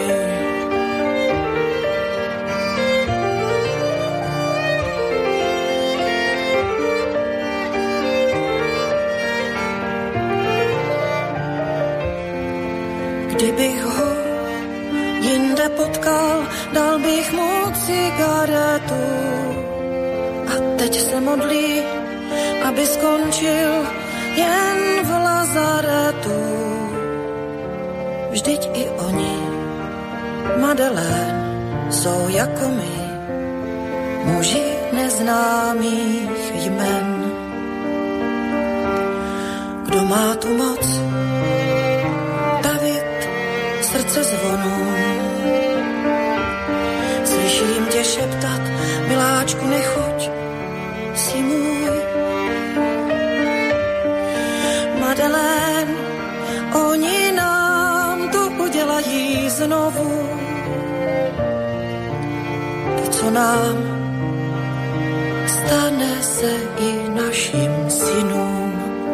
Kdybych ho jinde potkal, dal bych mu cigaretu. A teď se modlí, aby skončil jen v lazaretu. Vždyť i oni, Madeleine, jsou jako my, muži neznámých jmen. Kdo má tu moc srdce zvonů? Slyším tě šeptat, miláčku, nechoď, jsi můj. Madeleine, oni nám to udělají znovu. To, co nám stane se i našim synům.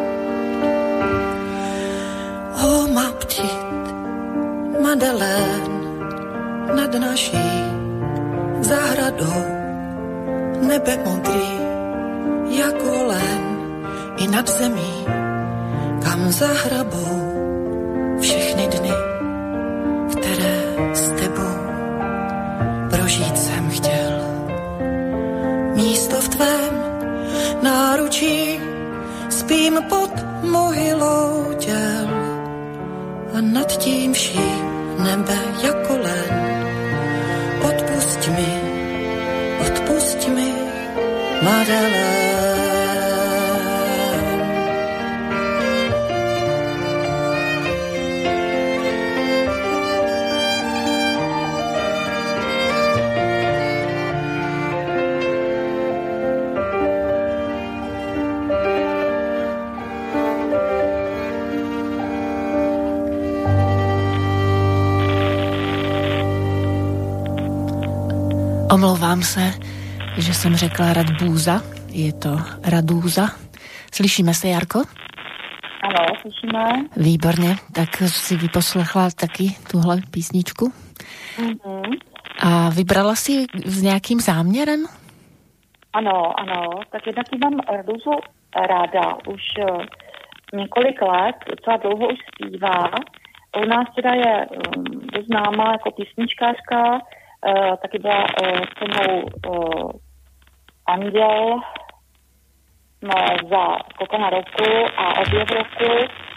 Oh, ma petite Madeleine, nad naší zahradou nebe modrý jako len, i nad zemí, kam zahrabou všechny dny, které s tebou prožít jsem chtěl. Místo v tvém náručí, spím pod mohylou těl a nad tím vším nebe jako len. Odpusť mi, Madeleine. Omlouvám se, že jsem řekla Radbúza, je to Radúza. Slyšíme se, Jarko? Ano, slyšíme. Výborně, tak si vyposlechla taky tuhle písničku. Mm-hmm. A vybrala si s nějakým záměrem? Ano, tak jednak mám Radúzu ráda, už několik let, docela dlouho už zpívá. U nás teda je dost známá jako písničkářka, taky byla se mnou Anděl za Kokona roku a Objev roku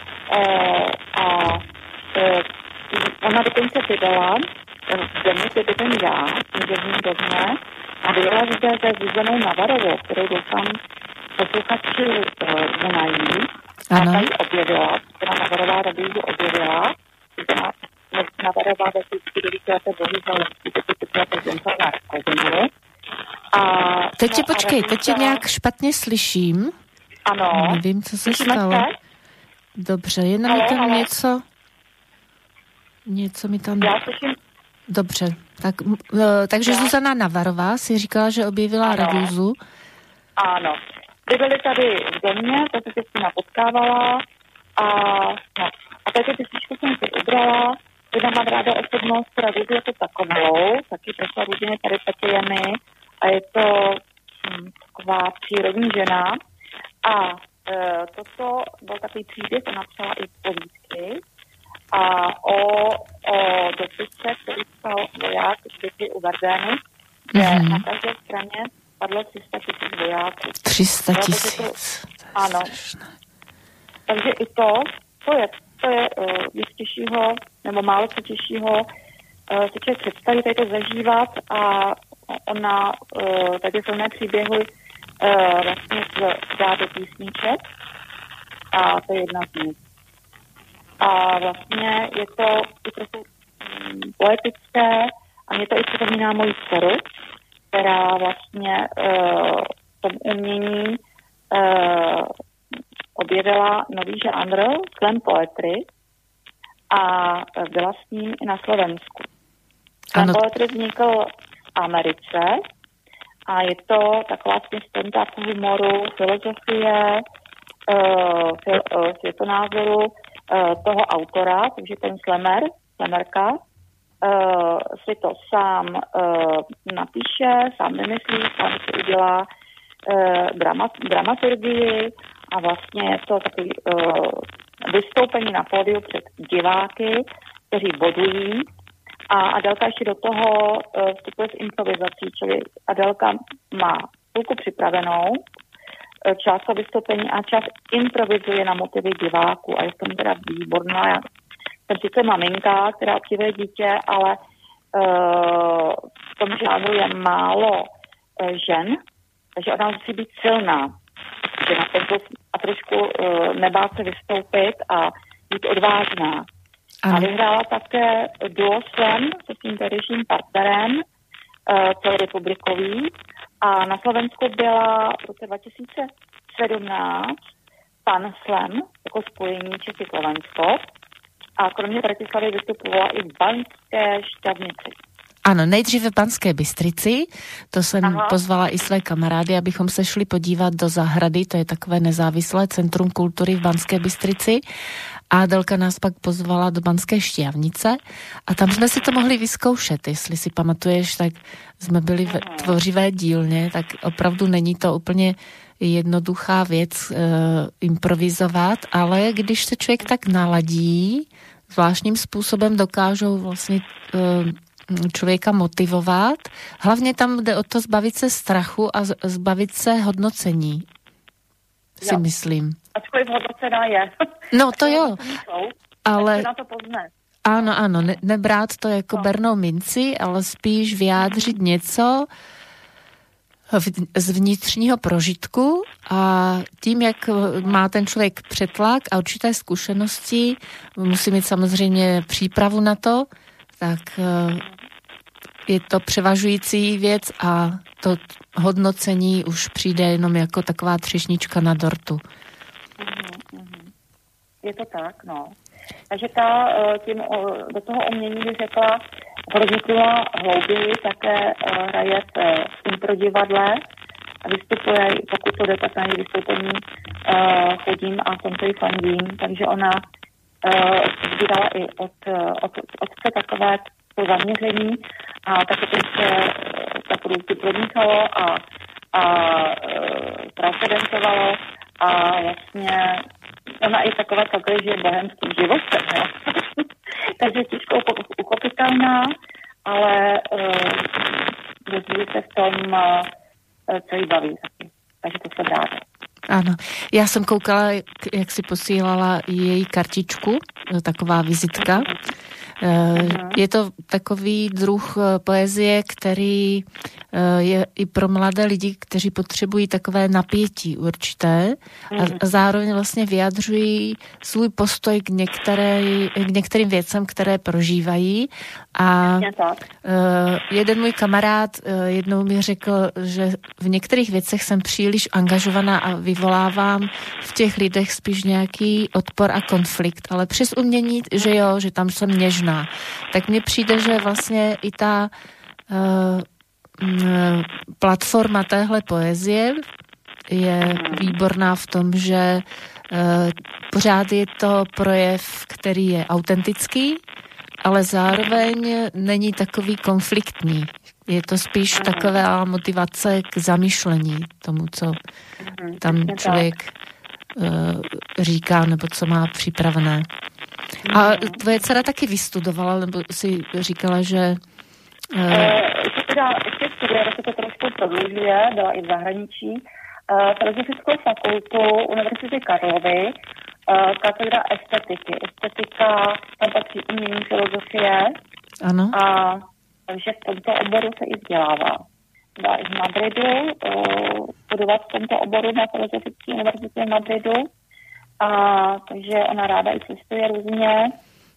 a ona dokonce vydala v zemi, kde bydlím já, v Děvním domě, a vydala zde se Zuzanou Navarovou, kterou doufám posluchači znají. A ta ji objevila, která Navarová Radúzu objevila, která Navarová vždycky do víceleté bohužel na Rakovinu. Teď tě počkej, teď tě nějak špatně slyším. Ano. Nevím, co se stalo. Dobře, jenom mi tam něco mi tam... Já slyším. Dobře, takže Zuzana Navarová si říkala, že objevila Radúzu. Ano. Byli tady v domě, to se s nima potkávala a tady písničku jsem si ubrala. Jedna mám ráda osobnost Radúzu jako takovou, taky prošla různými peripetiemi a je to taková přírodní žena. A toto byl takový příběh, ona napsala i povídky a o dopise, který psal voják z bitvy u Verdény, kde na každé straně padlo 300 000 vojáků. 300 000. Ano. Takže i to je víc těžšího, nebo málo co těžšího si člověk představí, tady to zažívat a ona tady silné příběhy vlastně dá do písniček a to je jedna z nich. A vlastně je to i trochu poetické a mě to i připomíná moji dceru, která vlastně v tom umění objevila nový žánr slam poetry a byla s ním i na Slovensku. Slam poetry vznikl v Americe a je to taková směs humoru, filozofie, světonázoru toho autora, takže ten slemerka, si to sám napíše, sám vymyslí, sám si udělá dramaturgii a vlastně je to takový vystoupení na pódiu před diváky, kteří bodují. A Adelka ještě do toho vstupuje s improvizací, čili Adelka má půlku připravenou, část to vystoupení a část improvizuje na motivy diváků a je v tom teda výborná. Já jsem sice maminka, která obdivuje dítě, ale v tom žánru je málo žen, takže ona musí být silná. A trošku nebát se vystoupit a být odvážná. A vyhrála také duo Slam se svým tehdejším partnerem celorepublikový a na Slovensku byla v roce 2017 Pan Slam jako spojení Čechy-Slovensko a kromě Bratislavy vystupovala i v Banské Štiavnici. Ano, nejdříve v Banské Bystrici, to jsem pozvala i své kamarády, abychom se šli podívat do zahrady, to je takové nezávislé centrum kultury v Banské Bystrici. A Adelka nás pak pozvala do Banské Štiavnice a tam jsme si to mohli vyzkoušet, jestli si pamatuješ, tak jsme byli v tvořivé dílně, tak opravdu není to úplně jednoduchá věc improvizovat, ale když se člověk tak naladí, zvláštním způsobem dokážou vlastně člověka motivovat. Hlavně tam jde o to zbavit se strachu a zbavit se hodnocení, si myslím. Ačkoliv hodnocená je. No to jo, ale... na to pozne. Ano, nebrát to jako bernou minci, ale spíš vyjádřit něco z vnitřního prožitku a tím, jak má ten člověk přetlak a určité zkušenosti, musí mít samozřejmě přípravu na to, tak je to převažující věc a to hodnocení už přijde jenom jako taková třešnička na dortu. Je to tak, no. Takže tím do toho umění bych řekla, pronikla hlouběji, také hraje v improdivadle a vystupuje, pokud to jde, tak na její vystoupení chodím a jsem to i fandím, takže ona sbírala i od otce takové to zaměření a také to se ta produkty pronikalo a transcendovalo a vlastně ona i takové že je bohemským životem, jo. Takže těžko uchopitelná, ale dozví se v tom, co jí baví taky. Takže to se ráda. Ano, já jsem koukala, jak si posílala její kartičku, taková vizitka. Je to takový druh poezie, který je i pro mladé lidi, kteří potřebují takové napětí určité a zároveň vlastně vyjadřují svůj postoj k některým věcem, které prožívají. A jeden můj kamarád jednou mi řekl, že v některých věcech jsem příliš angažovaná a vyvolávám v těch lidech spíš nějaký odpor a konflikt, ale přes umění, že jo, že tam jsem něžná. Tak mně přijde, že vlastně i ta platforma téhle poezie je výborná v tom, že pořád je to projev, který je autentický, ale zároveň není takový konfliktní. Je to spíš taková motivace k zamýšlení tomu, co tam člověk říká, nebo co má připravené. A tvoje dcera taky vystudovala, nebo si říkala, že... Ještě studuje, se to trošku prodlužuje, byla i v zahraničí. Filozofickou fakultu Univerzity Karlovy, katedra estetiky. Estetika, tam patří umění, filozofie. Ano. A takže v tomto oboru se i vzdělává. Byla i v Madridu, studovat v tomto oboru na Filozofické univerzitě v Madridu. A takže ona ráda i cestuje různě.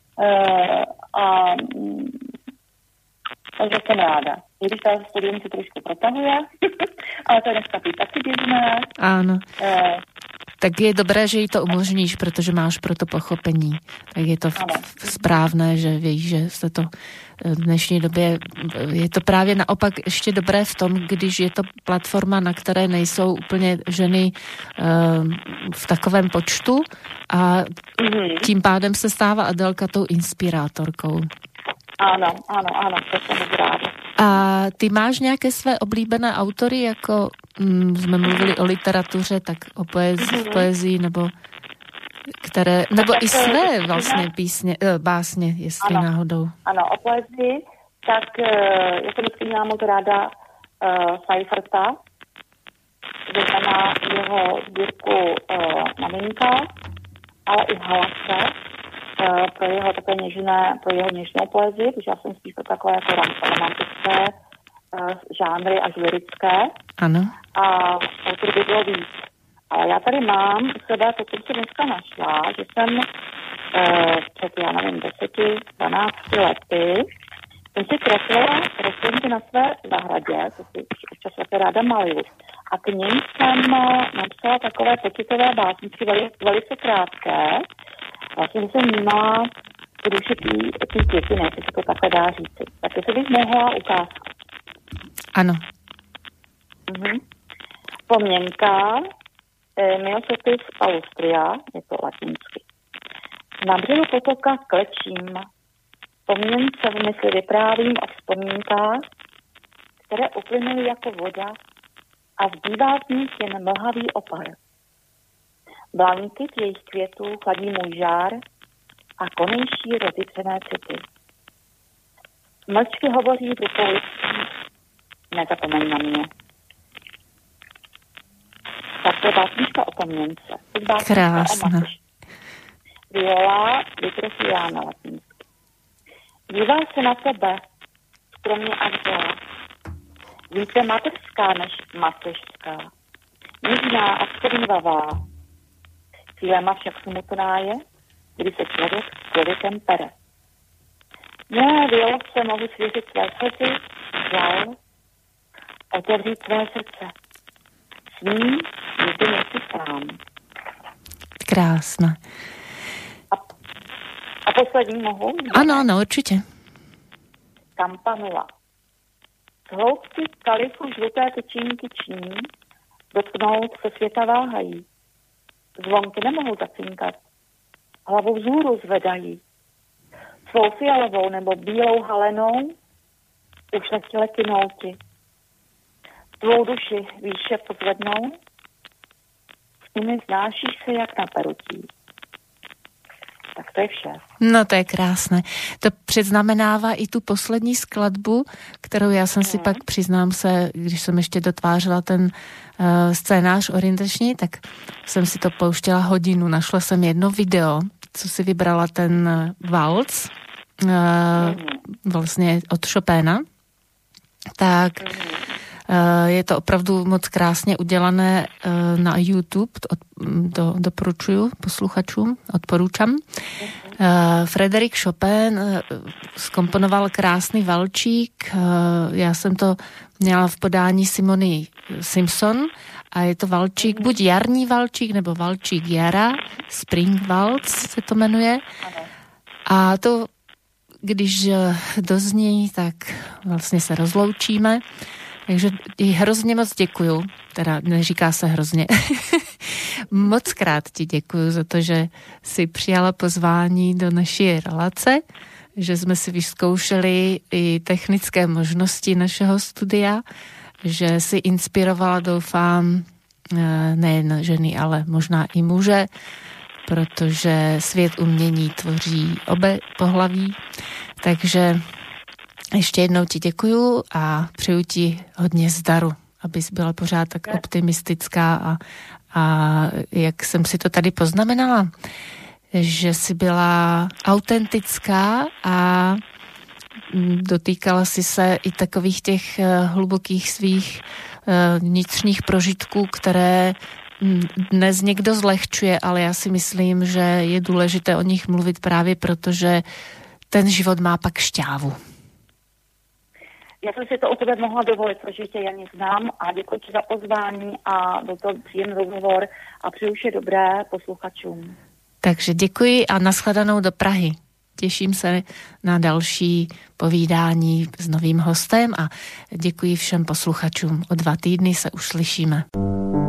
Takže jsem ráda. I když ta studium se trošku protahuje, ale to je dneska taky běžné. Ano. Tak je dobré, že jí to umožníš, protože máš pro to pochopení. Tak je to správné, že víš, že se to v dnešní době, je to právě naopak ještě dobré v tom, když je to platforma, na které nejsou úplně ženy v takovém počtu a tím pádem se stává Adelka tou inspirátorkou. Ano, to jsem ráda. A ty máš nějaké své oblíbené autory, jako jsme mluvili o literatuře, tak o poezii, nebo které, nebo i své vlastně písně, básně, jestli náhodou. Ano, o poezii, tak já jsem vždycky měla moc ráda Seiferta, znamená jeho sbírku Maminka, ale i Halase, pro jeho také něžnou poezii, protože já jsem spíš pro takové jako romantické žánry až lirické. Ano. A autor by bylo víc. Ale já tady mám u sebe, to jsem si dneska našla, že jsem před, 10-12 lety jsem si kreslila rostlinky na své zahradě, to si občas také ráda maluju. A k nim jsem napsala takové pocitové básničky, velice krátké. Vlastně jsem vnímala tu duši tý květiny, jestli se to takhle dá říci. Tak jestli bych mohla ukázku. Ano. Pomněnka Myosotis palustria, je to latinsky. Na břehu potoka klečím. Pomněnce v mysli vyprávím o vzpomínkách, které uplynuly jako voda a zbývá z nich jen mlhavý opar. Blanky jejich květů chladí můj žár a konejší rozjitřené city. Mlčky hovoří v rukou, nezapomeň na mě. Tak to je básnička o pomněnce. Krásná. Viola Vitrosiana latinsky. Dívá se na tebe, skromně a vřela. Více mateřská než mateřská. Nižná a skrývavá. Chvílema však smutná je, kdy se člověk s člověkem pere. Milé Violce mohu svěřit své slzy, žal, otevřít své srdce. S ním nikdy nejsi sám. Krásná. A poslední mohu? Ano, určitě. Campanula. Z hloubky kalifu žluté tyčinky ční, dotknout se světa váhají. Zvonky nemohou zacinkat. Hlavu vzhůru zvedají. Svou fialovou nebo bílou halenou už letěle kinouti. Tvou duši výše pozvednou, s nimi znášíš se jak na perutí. Tak to je vše. No to je krásné. To předznamenává i tu poslední skladbu, kterou já jsem si pak, přiznám se, když jsem ještě dotvářela ten scénář orientační, tak jsem si to pouštěla hodinu. Našla jsem jedno video, co si vybrala ten valc, vlastně od Chopina. Tak je to opravdu moc krásně udělané na YouTube, doporučuju posluchačům, odporučám. Frédéric Chopin zkomponoval krásný valčík, já jsem to měla v podání Simony Simpson a je to valčík, buď jarní valčík, nebo valčík jara, Spring Waltz se to jmenuje. A to, když dozní, tak vlastně se rozloučíme. Takže hrozně moc děkuju, teda neříká se hrozně, moc krát ti děkuju za to, že jsi přijala pozvání do naší relace, že jsme si vyzkoušeli i technické možnosti našeho studia, že si inspirovala, doufám, nejen ženy, ale možná i muže, protože svět umění tvoří obě pohlaví, takže ještě jednou ti děkuju a přeju ti hodně zdaru, abys byla pořád tak optimistická a jak jsem si to tady poznamenala, že jsi byla autentická a dotýkala si se i takových těch hlubokých svých vnitřních prožitků, které dnes někdo zlehčuje, ale já si myslím, že je důležité o nich mluvit právě proto, že ten život má pak šťávu. Já jsem si to u tebe mohla dovolit, protože tě Janě znám a děkuji ti za pozvání a byl to příjemný rozhovor a přeju vše dobré posluchačům. Takže děkuji a nashledanou do Prahy. Těším se na další povídání s novým hostem a děkuji všem posluchačům. O 2 týdny se už slyšíme.